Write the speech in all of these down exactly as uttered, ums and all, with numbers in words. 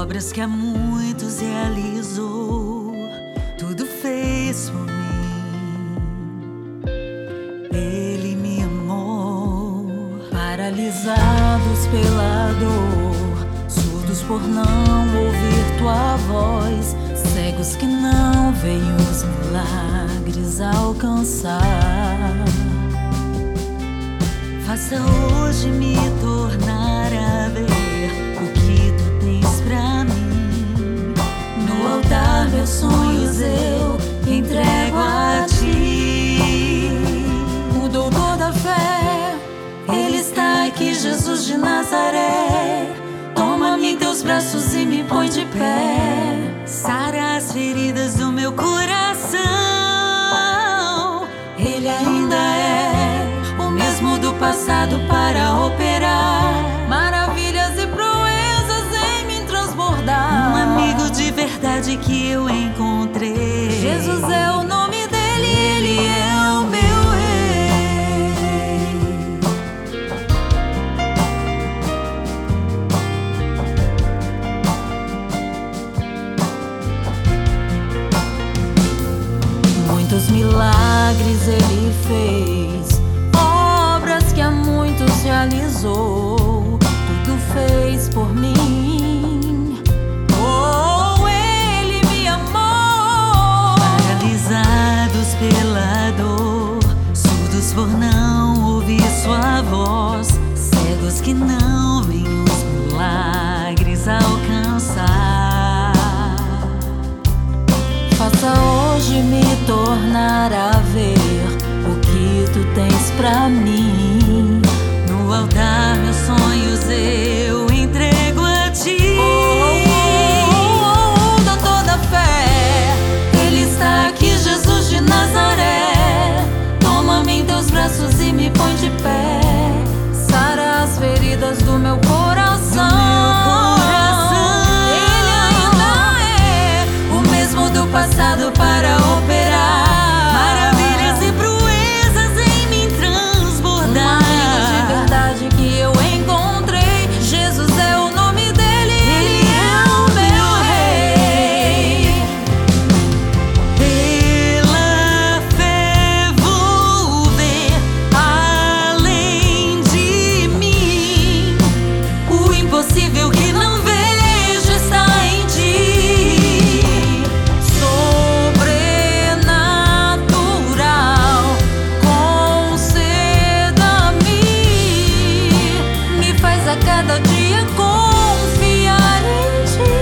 obras que há muitos realizou, tudo fez por mim. Ele me amou. Paralisados pela dor, surdos por não ouvir tua voz, cegos que não veem os milagres alcançar. Faça hoje me tornar a ver o que tu tens pra mim. No altar meus sonhos eu entrego a ti. O doutor da fé, ele está aqui, Jesus de Nazaré. Toma-me em teus braços e me põe de pé. Sara as feridas do meu coração. Ele ainda é o mesmo do passado para operar maravilhas e proezas em me transbordar. Um amigo de verdade que eu encontrei. Jesus é o nome dele, ele é o meu rei. Muitos milagres ele fez, obras que há muitos realizou, tudo fez por mim. Oh, ele me amou. Paralisados pela dor, surdos por não ouvir sua voz, cegos que não veem os milagres alcançar. Faça hoje me tornar a ver o que tu tens pra mim. No altar meus sonhos eu entrego a ti. Oh, oh, oh, oh, doutor da fé, ele está aqui, Jesus de Nazaré. Toma-me em teus braços e me põe de pé. Sara as feridas do meu coração. Do meu coração. Ele ainda é o mesmo do passado para operar maravilhas e proezas em mim transbordar. Um amigo de verdade que eu encontrei. Jesus é o nome dele, ele é o meu rei. Pela fé vou ver além de mim. O impossível que não vejo está em ti. Cada dia confiar em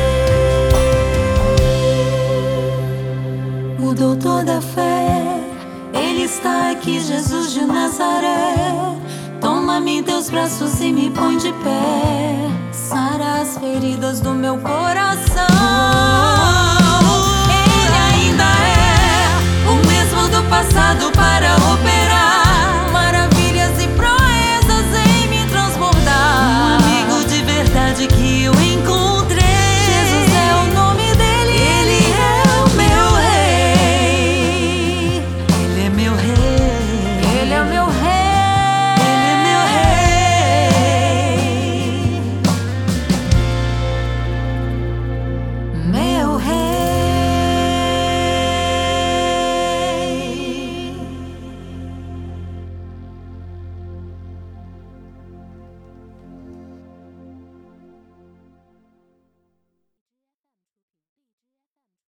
ti. O doutor da fé, ele está aqui, Jesus de Nazaré. Toma-me em teus braços e me põe de pé. Sara as feridas do meu coração. Ele ainda é o mesmo do passado para operar